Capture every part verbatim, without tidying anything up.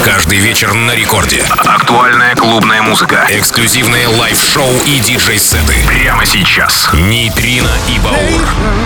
Каждый вечер на рекорде. Актуальная клубная музыка. Эксклюзивные лайв-шоу и диджей-сеты. Прямо сейчас. Нейтрино и Баур.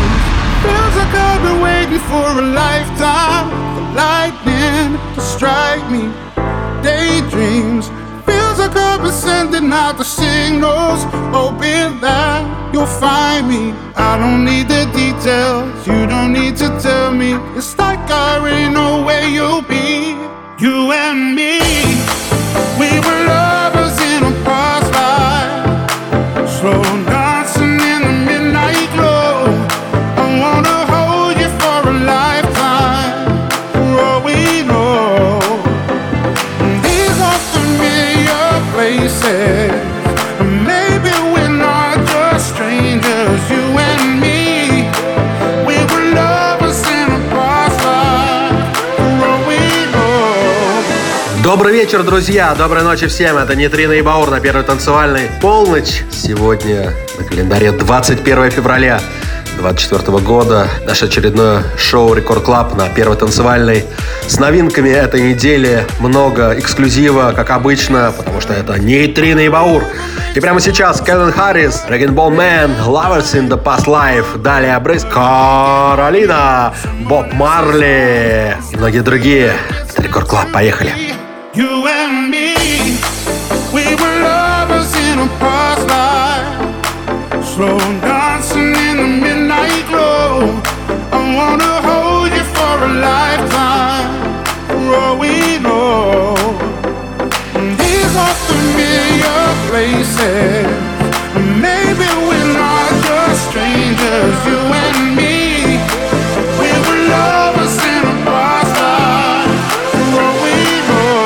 Feels like I've been sending out the signals, hoping that you'll find me. I don't need the details, you don't need to tell me. It's like I already know where you'll be. You and me, we were lovers in a past life, slow dancing in the midnight glow. I wanna hold you for a lifetime, for all we know. These are familiar places, maybe we're not just strangers. You and me, we were lovers in a past life, for all we know. Добрый вечер, друзья! Доброй ночи всем! Это Нейтрино и Баур на Первой танцевальной. Полночь. Сегодня на календаре двадцать первое февраля двадцать четвёртого года. Наше очередное шоу Рекорд Клаб на Первой танцевальной. С новинками этой недели много эксклюзива, как обычно, потому что это Нейтрино и Баур. И прямо сейчас Кевин Харрис, Rag and Bone Man, Lovers in the Past Life, далее Брейс Каролина, Боб Марли и многие другие. Это Рекорд Клаб. Поехали! You and me, we were lovers in a past life, slow dancing in the midnight glow. I wanna hold you for a lifetime, for all we know. These are familiar places, maybe we're not just strangers. You and me, we were lovers in a past life, for all we know.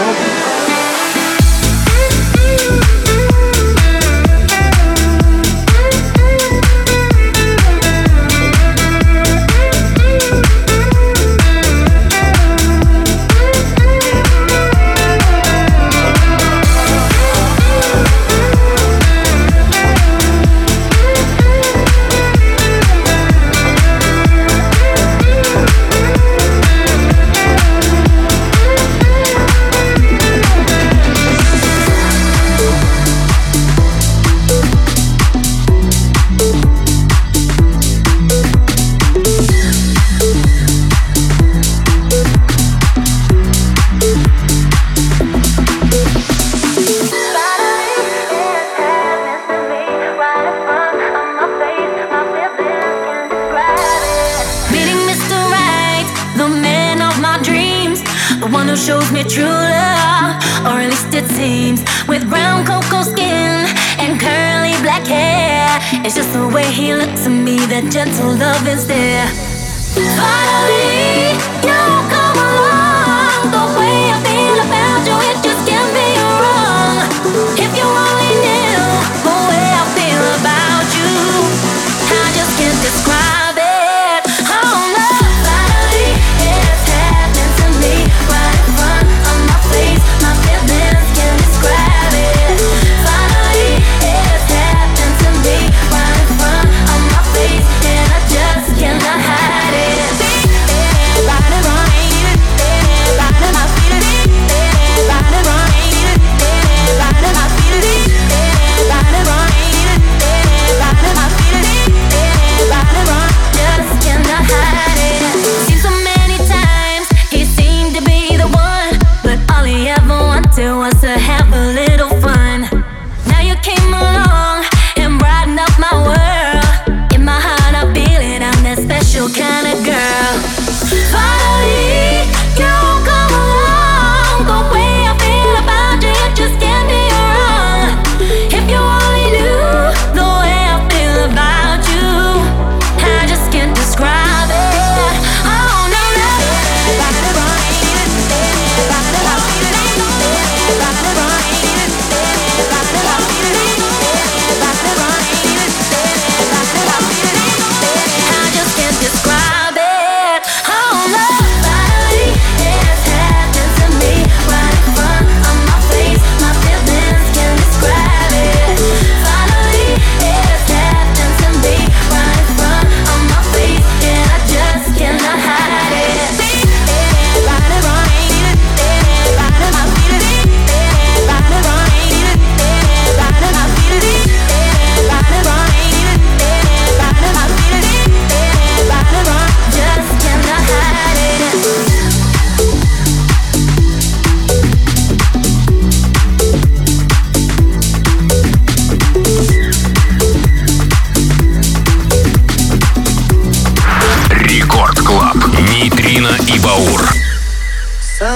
Shows me true love, or at least it seems. With brown cocoa skin and curly black hair, it's just the way he looks at me, that gentle love is there. Finally, you come along. The way I feel about you, it just can't be wrong. If you only knew the way I feel about you, I just can't describe it. Oh no, finally it's happening to me. Right in front of my face, my feelings can't describe it. Finally it's happening to me. Right in front of my face, and I just cannot hide it.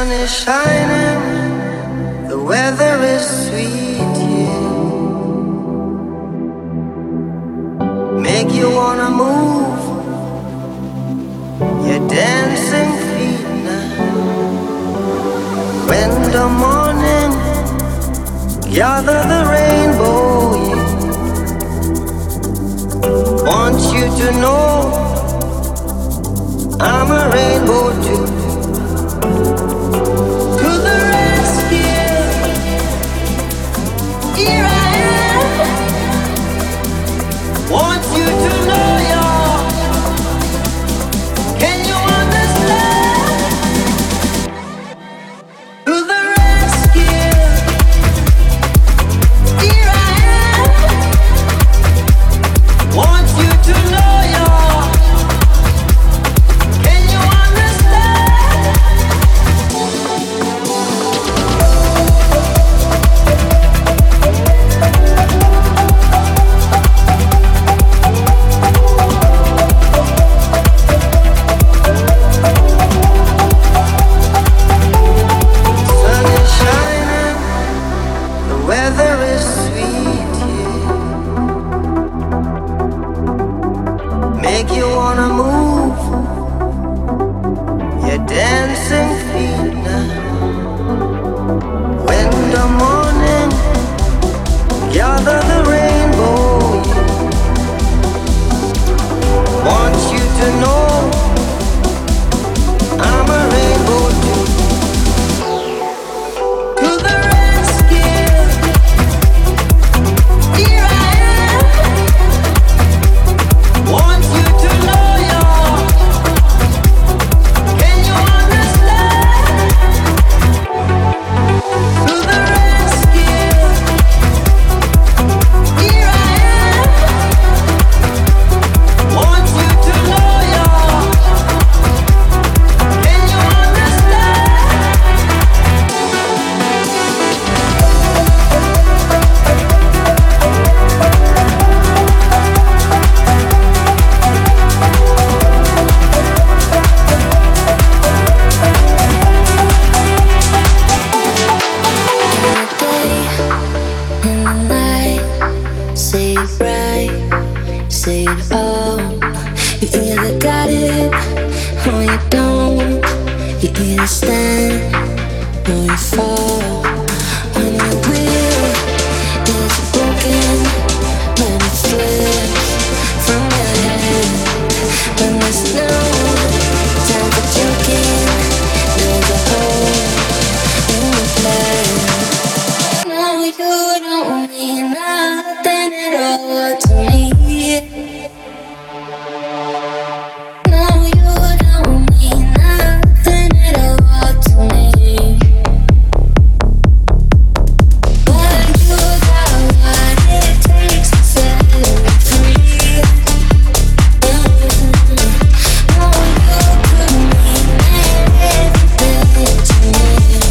sun is shining, the weather is sweet, yeah. Make you wanna move your dancing feet now. When the morning gather the rainbow, yeah. Want you to know I'm a rainbow too. To the rescue, here I am. Want you to know y'all. Can you understand? To the rescue, here I am. Want you to know y'all. Can you understand? Sun is shining, the weather is sweet, yeah. Make you wanna move your dancing feet now. When the morning gather the rainbow, yeah. Want you to know I'm a rainbow too. To the rescue, here I am. Want you to know y'all. Can you understand? To the rescue, here I am. Want you to know y'all. Can you understand? In the night, say it right, say it all. You either got it or you don't. You either stand or you fall. When the wheel is broken, when it slips from your head, when there's no time for joking, there's a hole in the plan. No, you don't mean nothing at all to me. No, you don't mean nothing at all to me. But you got what it takes to set me free. No, you could mean everything to me.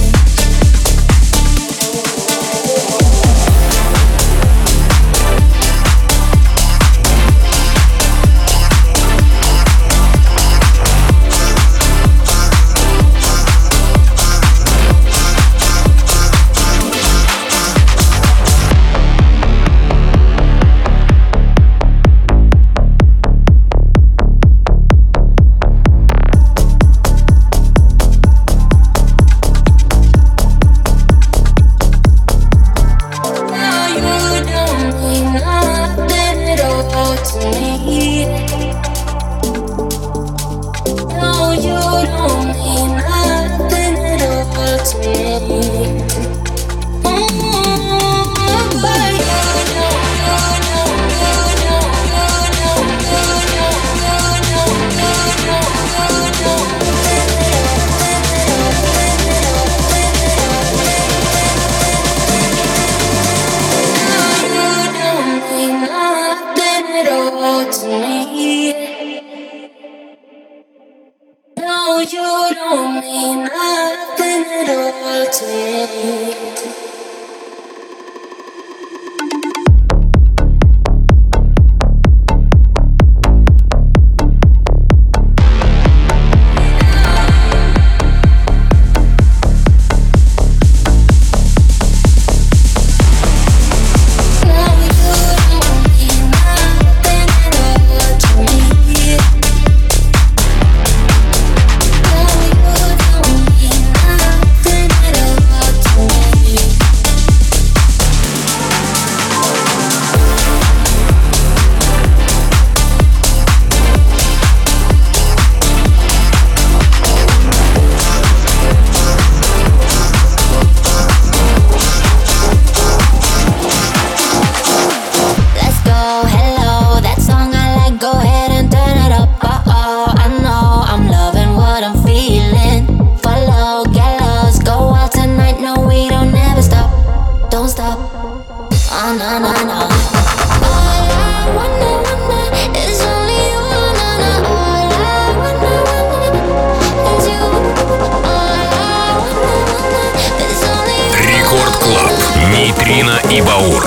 No, you don't mean nothing at all to me. No, you don't mean nothing at all to me. Mm, but you don't, you don't, you don't, you don't, you don't, you don't, you don't, you don't mean nothing at all to me. No, you don't mean nothing at all to me. Нитрина и Баур.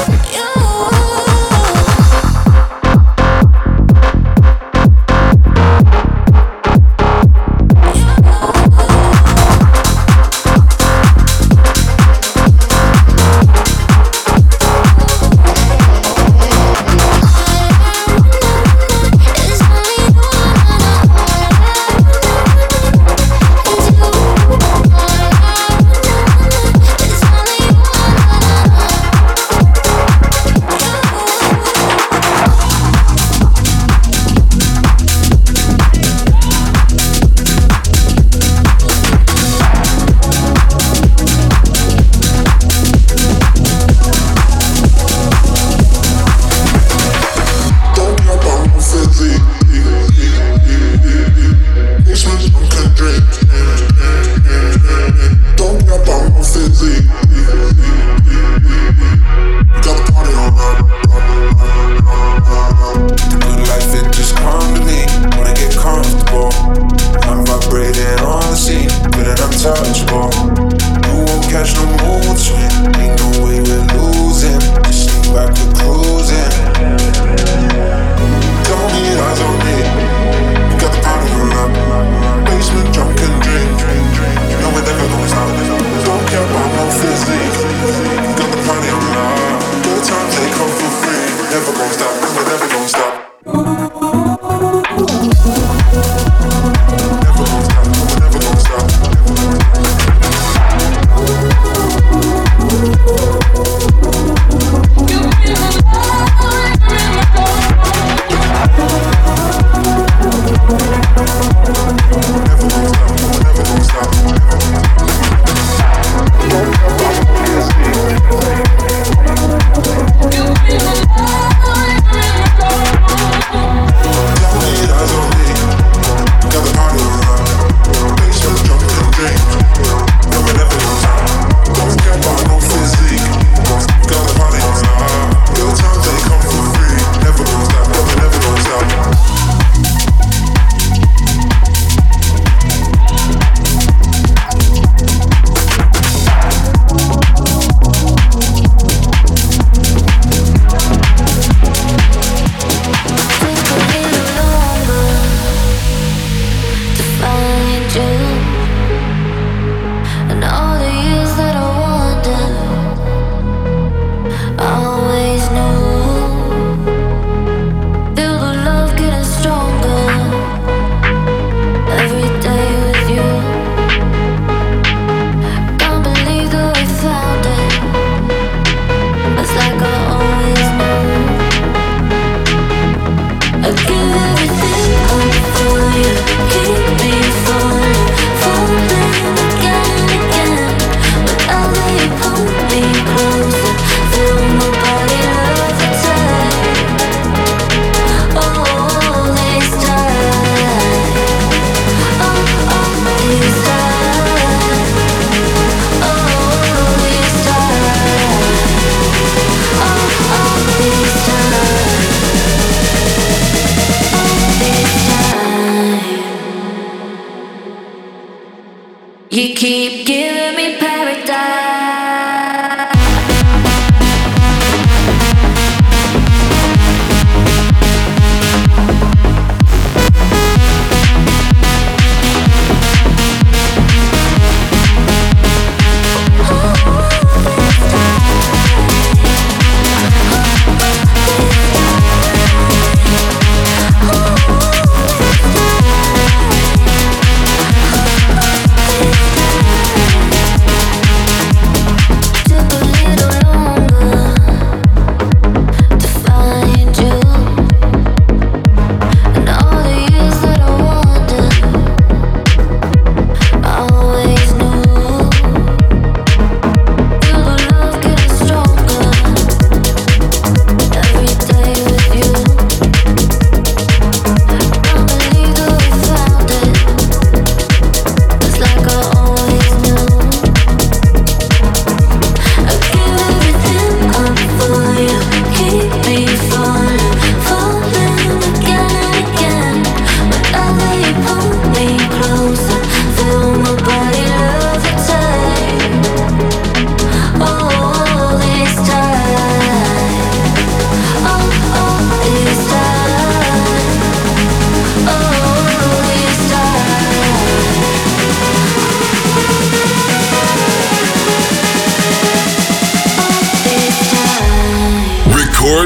You keep giving me paradise.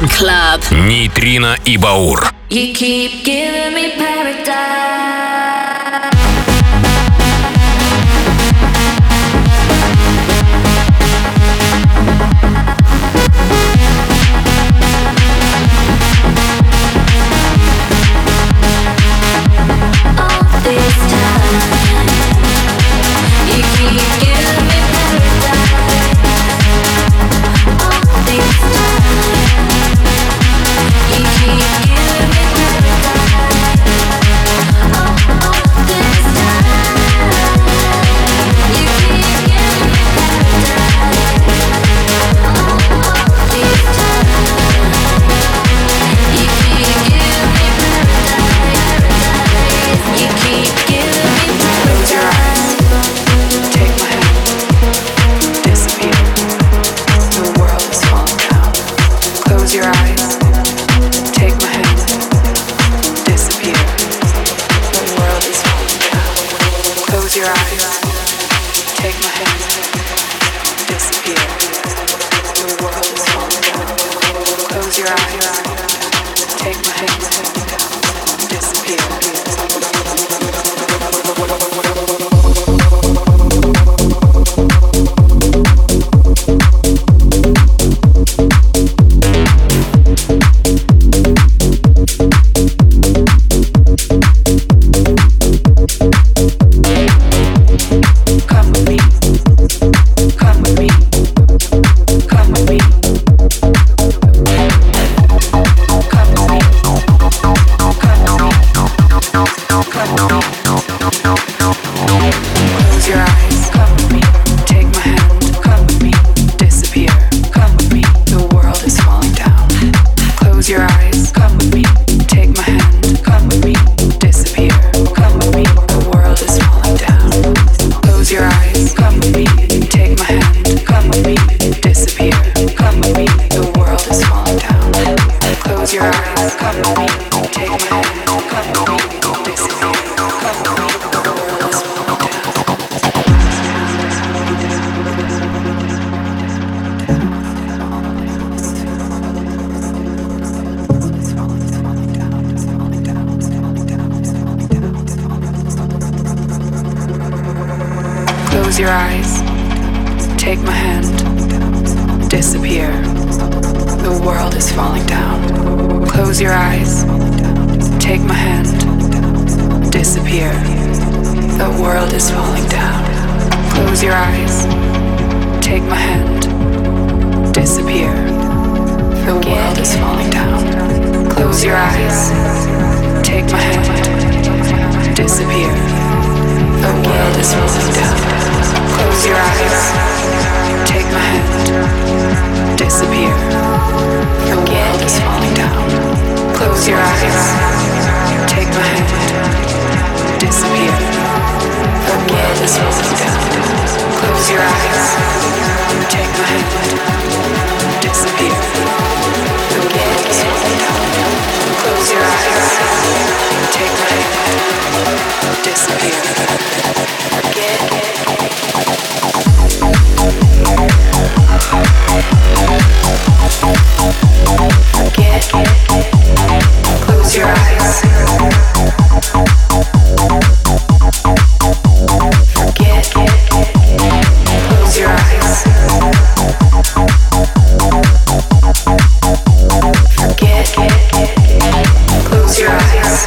One Club. Нейтрино и Баур. You keep giving me paradise. Close your eyes, take my hand, disappear. The world is falling down. Close your eyes, take my hand, disappear. The world is falling down. Close your eyes, take my hand, disappear. The world is falling down. Close your eyes, take my hand, disappear. The world is falling down. Close your eyes, take my hand, disappear. The world is falling down. Close your eyes, take my hand, disappear. The world is falling down. Close your eyes, take my hand, disappear. The world is falling down. Close your eyes, take my hand, disappear. Forget it. Close your eyes. Forget. Close your eyes. Forget. Close your eyes.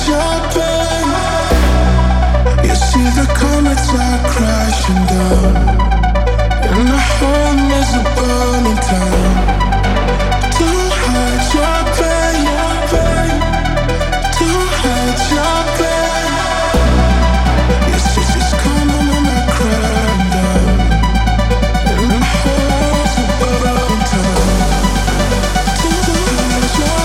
hide your pain. You see the comets are crashing down, and the home is a burning town. Don't hide your pain, don't hide your pain. Yes, it's just coming when I cry down, and the home's a burning town. Don't hide your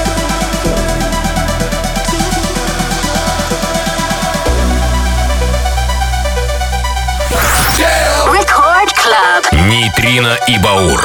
Record Club. Нейтрино и Баур.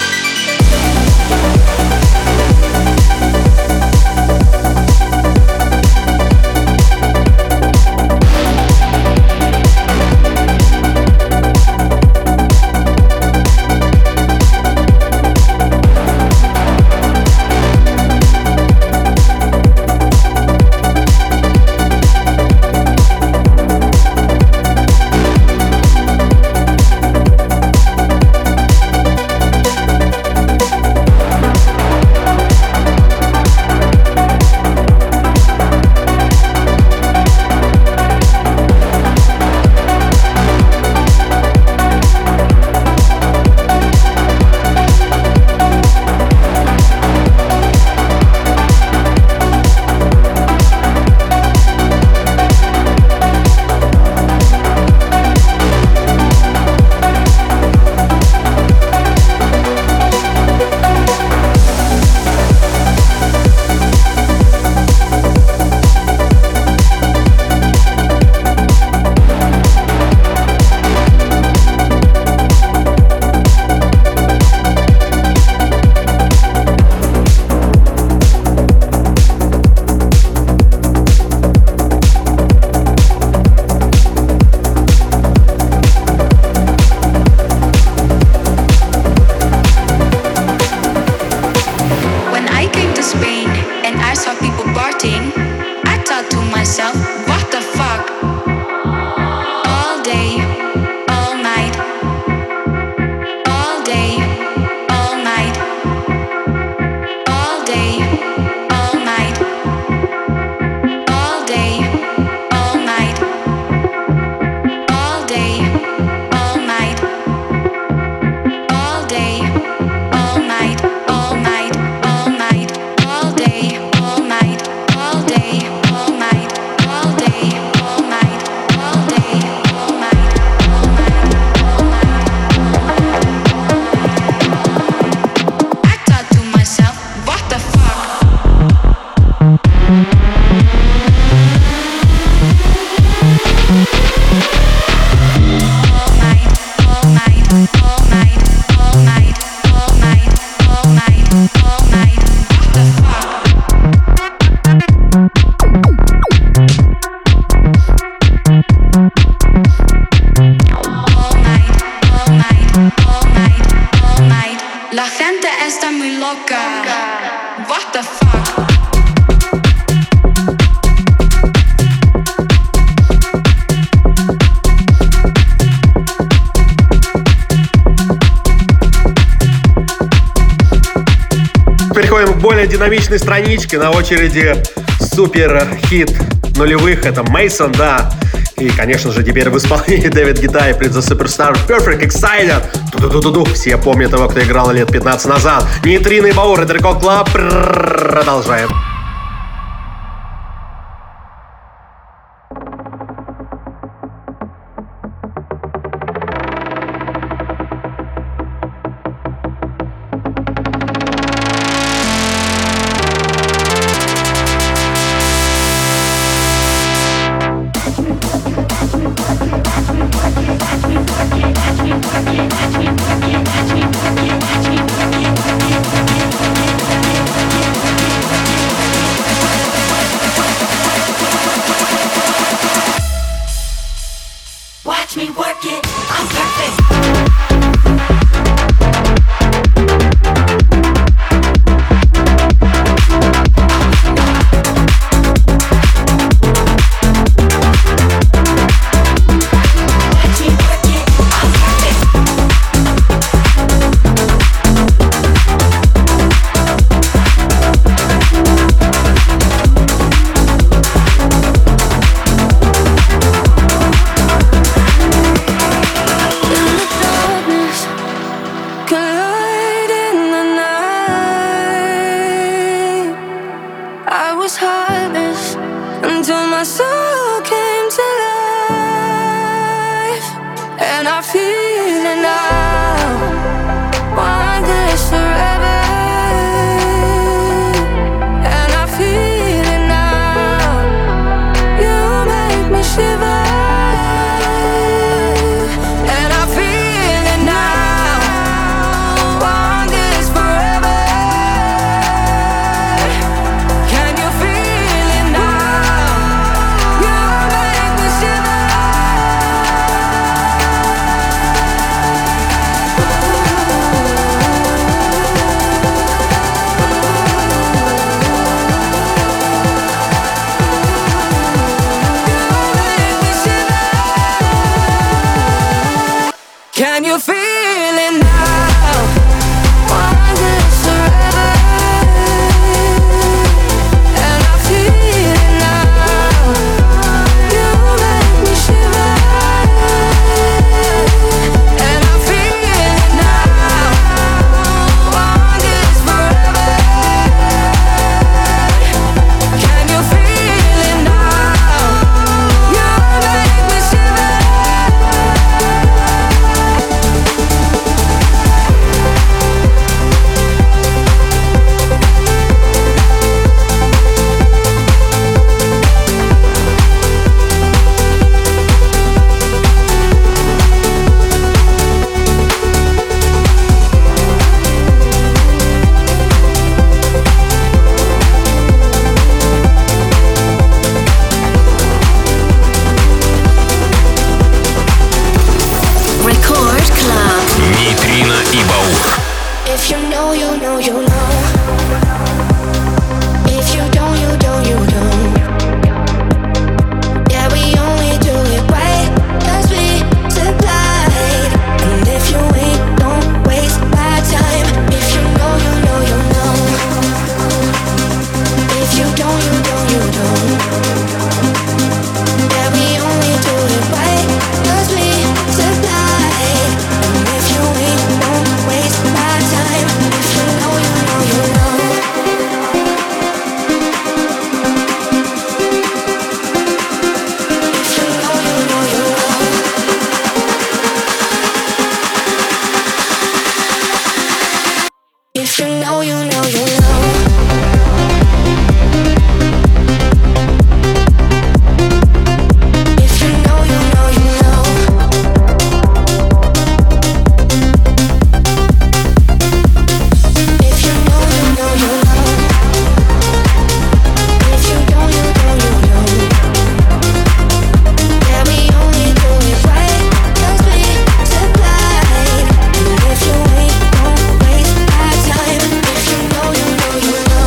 Переходим к более динамичной страничке. На очереди супер хит нулевых. Это Мейсон, да. И, конечно же, теперь в исполнении Дэвид Гетта и Prince the Superstar Perfect Excited. Ду-ду-ду-ду-ду. Все помнят его, кто играл лет пятнадцать назад. Нейтрино и Баур, это Record Club. Продолжаем. I was heartless until my soul came to life, and I feel it now. Want this forever, and I feel it now. You make me shiver. Can you feel it now? Want this forever, and I feel it now. You make me shiver, and I feel it now. Want this forever. Can you feel it now? You make me shiver. Нейтрино и Баур. If you know, you know, you know. If you don't, you don't, you don't. Yeah, we only do it right 'cause we supplied. And if you ain't, don't waste my time. If you know, you know, you know. If you don't, you don't, you don't. Yeah, we only do it right 'cause we supplied. And if you ain't, don't waste my time. If you know, you know, you know. If you know, you know, you know. If you know, you know, you know. If you know, you know, you know. If you know, you know, you know. If you don't, you don't, you know. Yeah, we only do it right 'cause we supplied. And if you ain't, don't waste my time. If you know, you know, you know.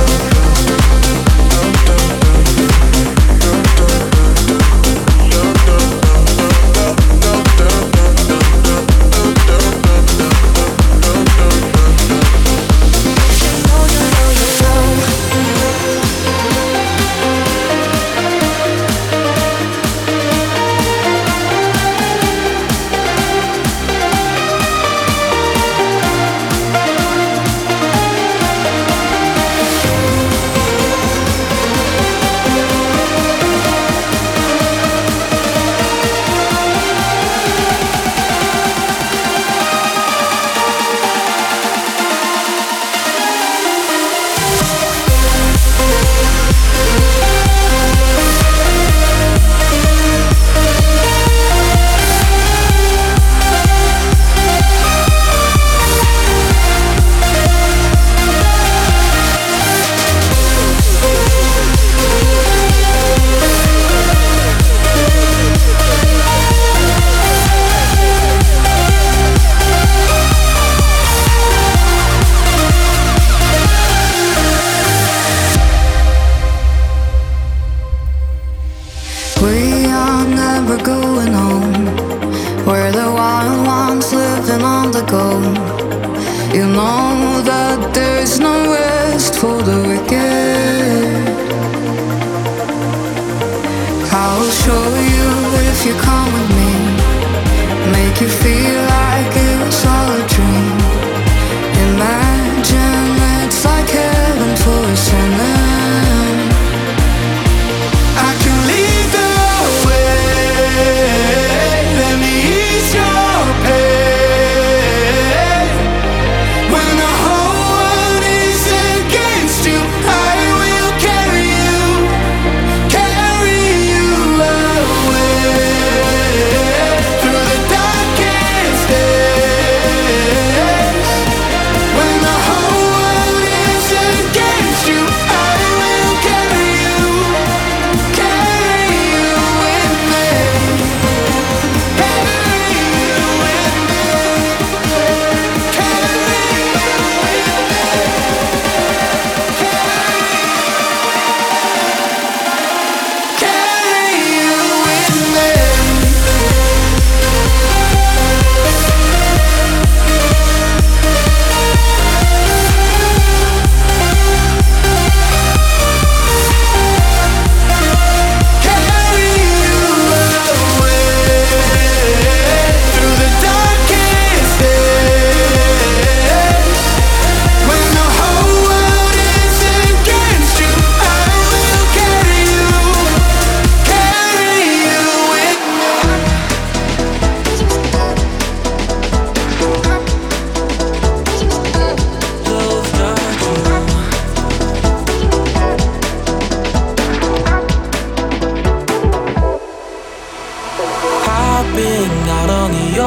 If you know, you know, you know. We are never going home. We're the wild ones living on the go. You know that there's no rest for the wicked. I'll show you if you come with me. Make you feel like it was all a dream. Imagine it's like heaven for a sinner.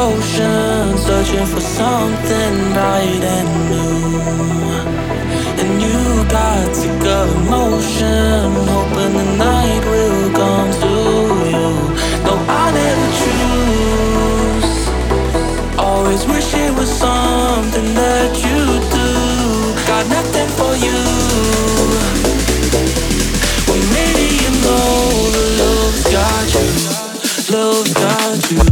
ocean, searching for something bright and new. And you got sick of emotion, hoping the night will come to you. No, I never choose. Always wish it was something that you do. Got nothing for you. Well, maybe you know the love's got you. Love's got you.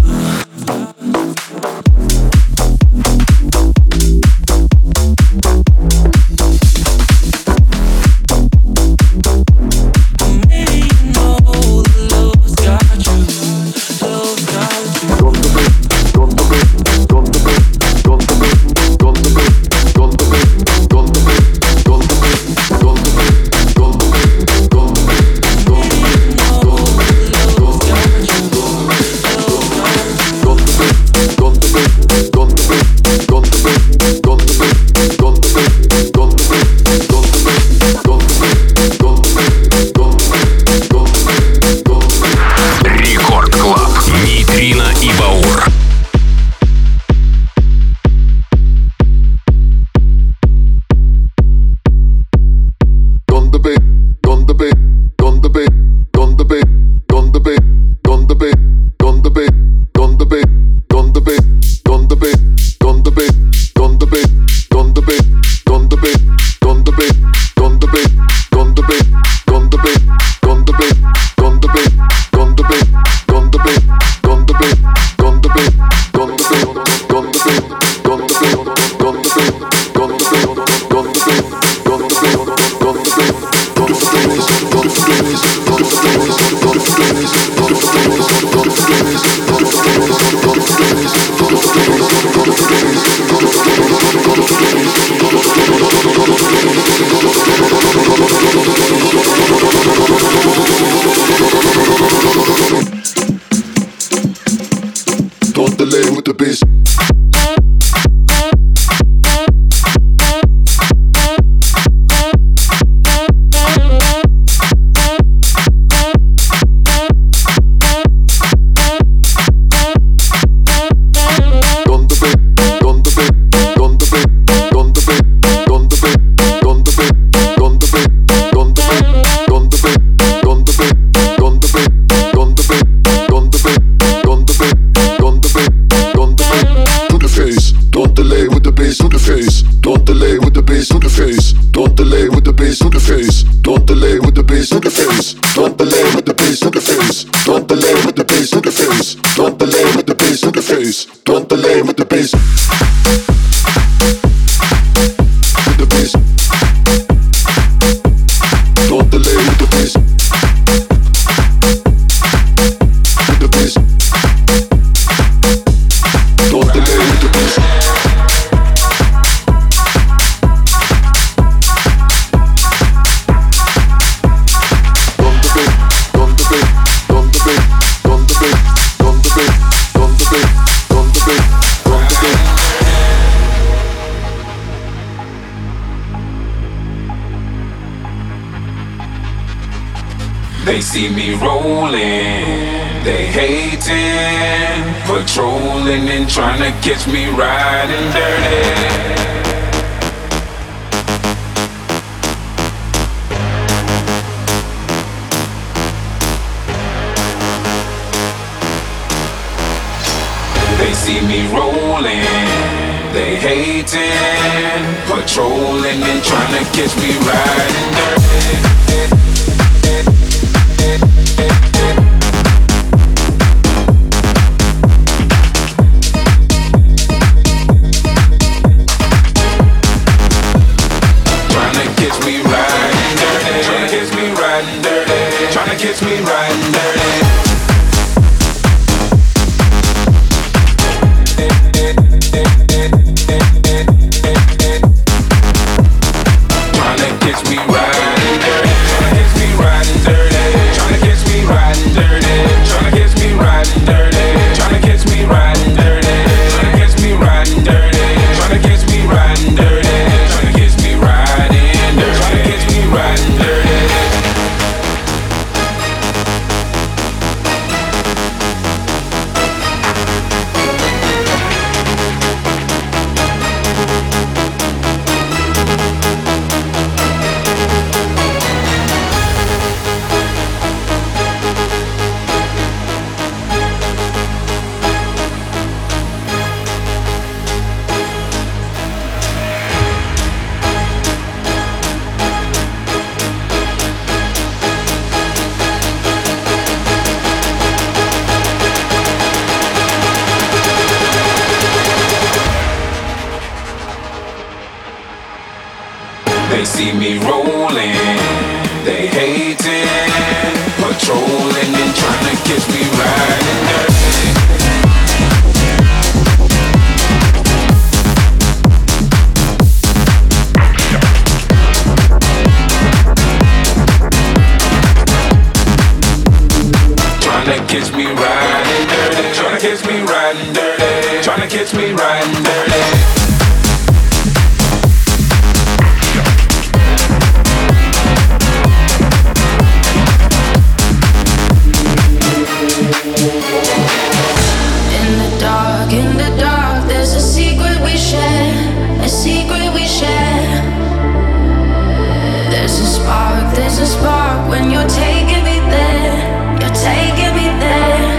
They see me rolling, they hating, patrolling and trying to catch me riding dirty. They see me rolling, they hating, patrolling and trying to catch me riding dirty. Catch me riding dirty. Tryna catch me riding dirty. Tryna catch me riding dirty. Tryna catch me riding dirty. Tryna catch me riding dirty. Tryna catch me riding dirty. Tryna catch me riding dirty. Tryna catch me riding dirty. Tryna catch me riding dirty. Tryna catch me riding dirty. see me rolling, they hating, patrolling and trying to catch me riding dirty. Tryna catch me riding dirty. Tryna catch me riding dirty. Tryna catch me riding dirty. In the dark, in the dark, there's a secret we share. A secret we share. There's a spark, there's a spark when you're taking me there. Taking me there.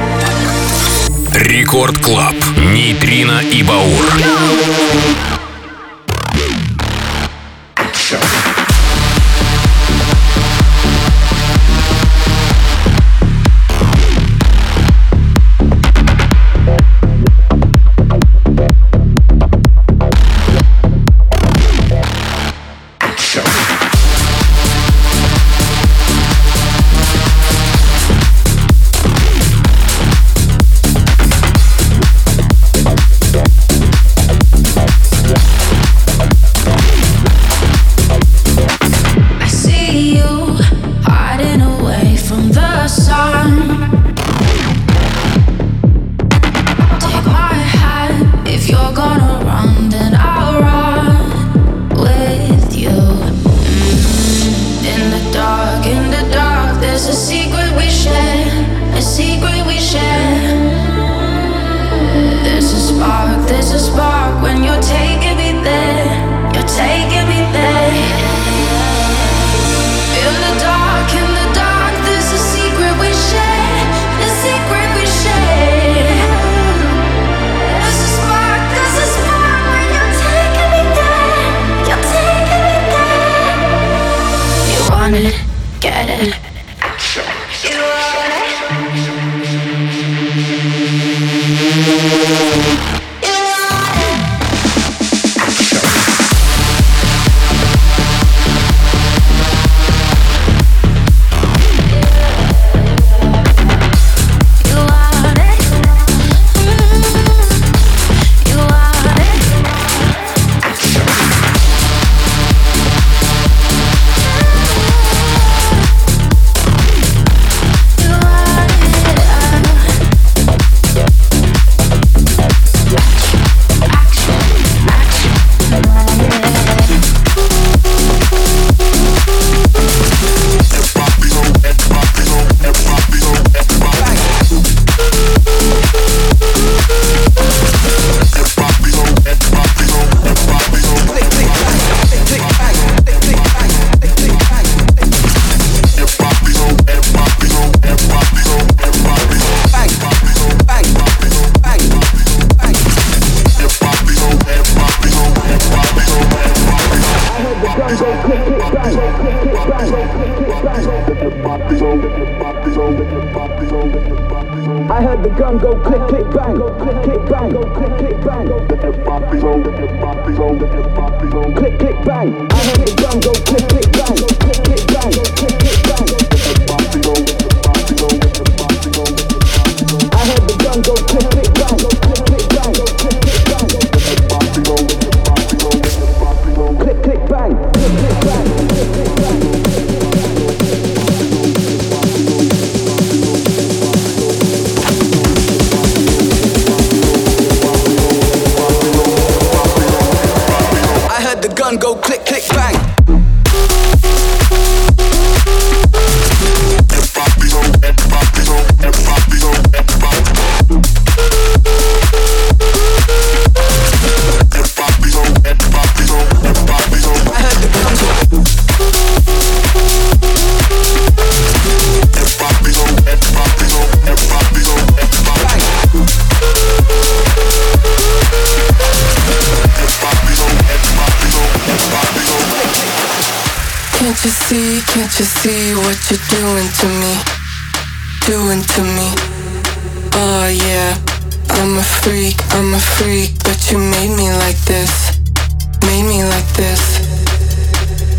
Рекорд Клаб. Нейтрино и Баур. I heard the gun go click, click, bang, click, click, bang, click, click, bang. Click, click, bang. I heard the gun go click, click, bang, click, click, bang, click, click, bang. I heard the gun go click, click, bang, click, click, bang, click, click, bang. Click, click, bang, click, click, bang, click, click, bang. Gun go click, click, bang. Can't you see, can't you see what you're doing to me? Doing to me. Oh yeah, I'm a freak, I'm a freak, but you made me like this. Made me like this.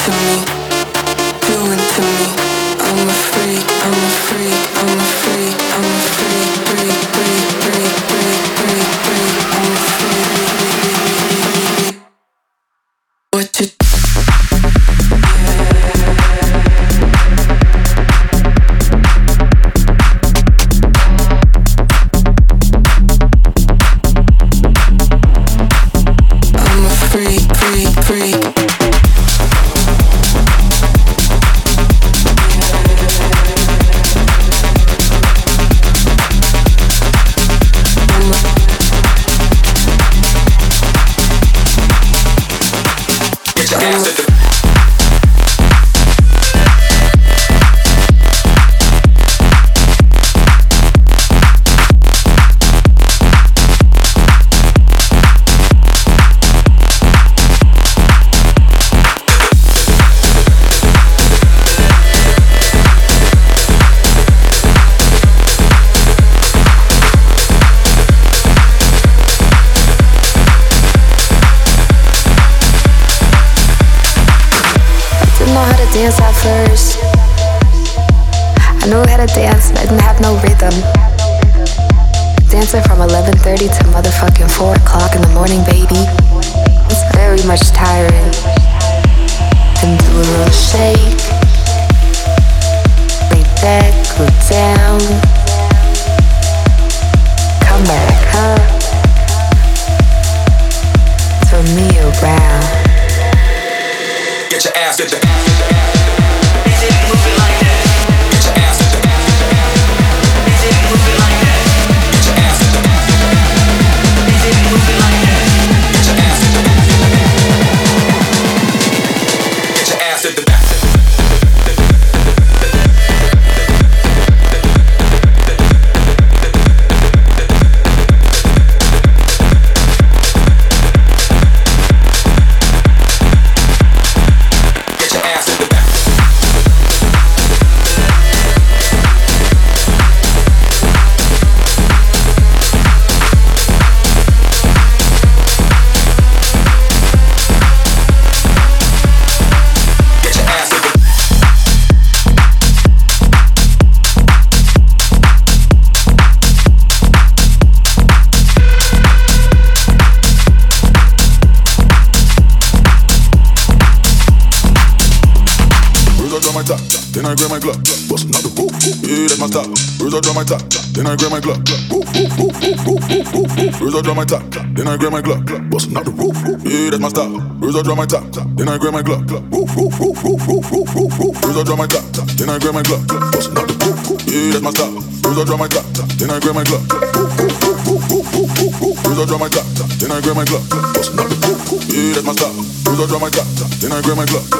to me, doing to me. I'm a freak, I'm a freak, I'm a freak, I'm a freak, freak, freak, freak, freak, freak, freak, I'm a freak. What you dance at first. I knew how to dance, but I didn't have no rhythm. Dancing from eleven thirty to motherfucking four o'clock in the morning, baby. It's very much tiring. Then do a little shake. Lay back, go down. Come back up. Turn me around. Get your ass, get your ass, get your ass. Is it moving like that? Get your ass, get your ass, get your ass. Is it moving like that? Get your ass, get your ass, get your ass. Is it moving like that? Get your ass, get your ass, get your ass. Get your ass, get your ass. Then I grab my Glock, bustin' out the roof. Yeah, that's my style. First I drop my top, then I grab my Glock. First I drop my top, then I grab my Glock, bustin' out the roof. Yeah, that's my style. First I drop my top, then I grab my Glock. First I drop my top, then I grab my Glock, bustin' out the roof. Yeah, that's my style. First I drop my top, then I grab my Glock. First I drop my top, then I grab my Glock, bustin' out the roof. Yeah, that's my style. First I drop my top, then I grab my Glock.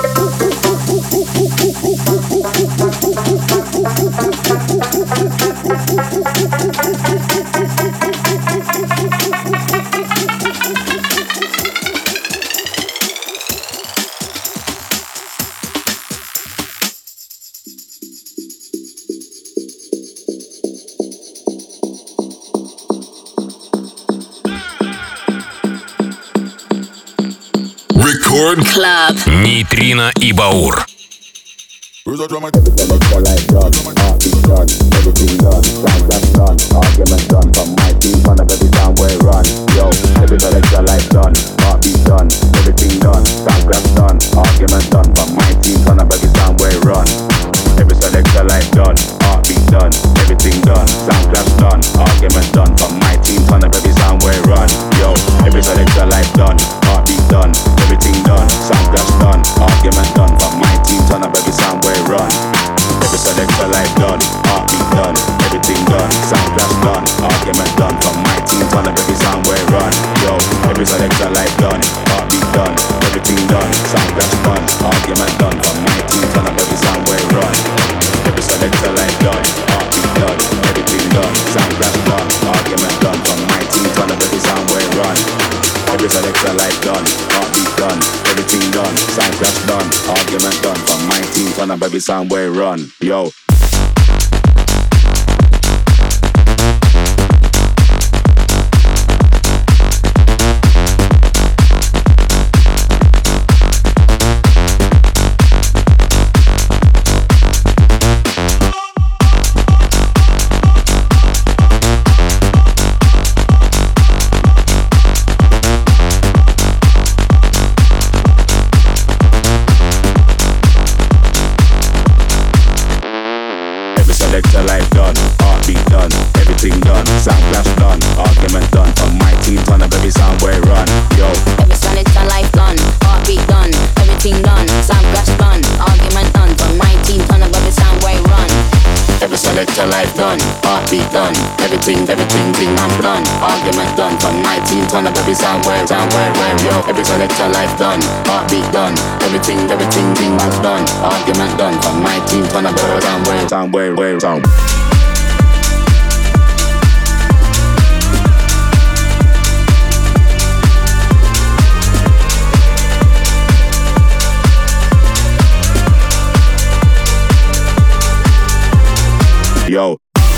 Record Club. Нейтрино и Баур. First I drop my selector like done, heartbeat done, everything done, sound that's done, argument done, from my team, fun of every time we run. Yo, every selector like done, heartbeat done, everything done, sound that's done, argument done, from my team, fun of every time we run. Every selector like done, heartbeat done, everything done, sound that's done, argument done, from my team, fun of every time we run. Yo, every selector like done, heartbeat done, everything done, sound that's done, argument done, from my team, fun of every time we run. Every selector like done, heartbeat done, everything done, sound that's done, argument done, from my team, turn up every sound we run. Yo, every selector like done, heartbeat done, everything done, sound that's done, argument done, from my team, turn up every sound we run. Every selector like done, heartbeat done, everything done, sound that's done, argument done, from my team, turn up every sound we run. Every selector like done, heartbeat done, everything done, sound that's done, argument done, from my team, turn up every sound we run. Yo. heartbeat done, everything done, sound clash done, argument done. From my team, turn up every sound where it run. Yo, every son it's a life done, heartbeat done, everything done, sound clash done, argument done. From my team, turn up every sound where it run. Every selector life done, heartbeat done, everything, everything, thing I'm done, argument done. From my team, turn up every sound where, sound where, where, yo. Every selector life done, heartbeat done, everything, everything, thing I'm done, argument done. From my team, turn up every sound where, sound where, where, sound. Yo.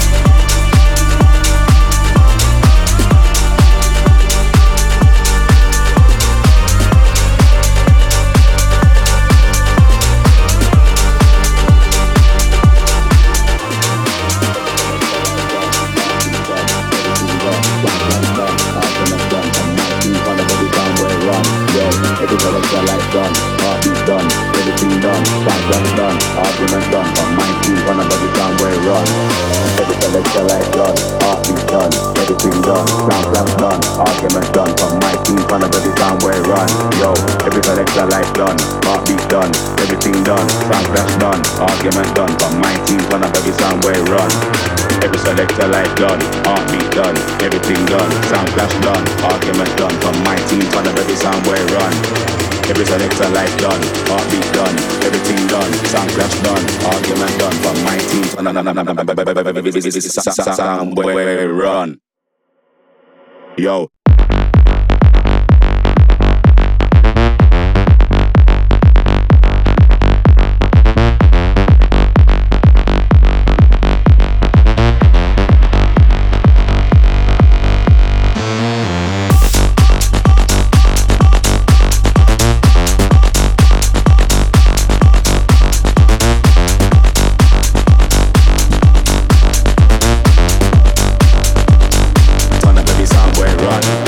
Every selector life done, heartbeat done, everything done, sound clash done, argument done. From my team, run up every sound where it run. Every selector life done, heartbeat done, everything done, sound clash done, argument done. From my team, run up every sound where it run. Yo, every selector life done, heartbeat done, everything done, sound clash done, argument done. From my team, run up every sound where it run. Every selector life done, heartbeat done, everything done, sound clash done, argument done. From my team, run up every sound where it run. Every selector life done, heartbeat done, everything done, sound clash done, argument done. From my team, sound where it run. Yo. Run.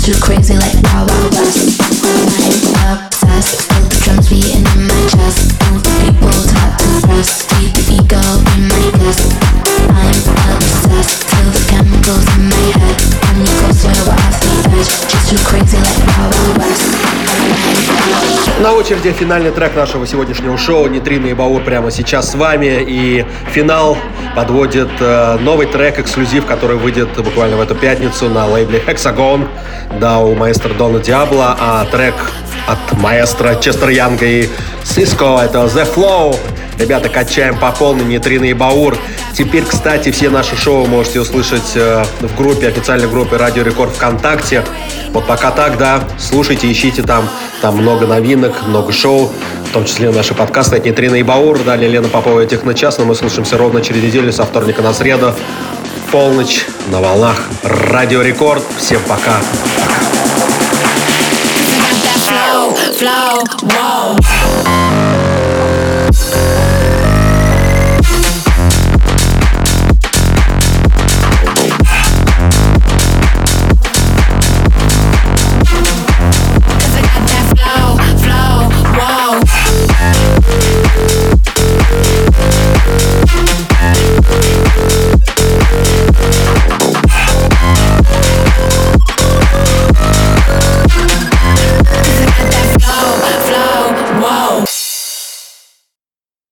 too crazy like Wild Wild West. I'm obsessed, feel the drums beating in my chest. Move people talk to press, feed the ego in my guest. I'm obsessed, feel the chemicals in my head. When you go slow, we're off the edge. Just too crazy like Wild Wild West. На очереди финальный трек нашего сегодняшнего шоу «Нейтрино и Баур» прямо сейчас с вами. И финал подводит э, новый трек, эксклюзив, который выйдет буквально в эту пятницу на лейбле Hexagon. Да, у маэстро Дона Диабло, а трек от маэстро Честер Янга и Сиско — это The Flow. Ребята, качаем по полной «Нейтрино и Баур». Теперь, кстати, все наши шоу можете услышать э, в группе, официальной группе Радио Рекорд ВКонтакте. Вот пока так, да, слушайте, ищите там. Там много новинок, много шоу, в том числе наши подкасты от «Нейтрино и Баур». Далее Лена Попова и Техночас, но мы слушаемся ровно через неделю, со вторника на среду, в полночь, на волнах Радио Рекорд. Всем пока. Flow, flow, whoa.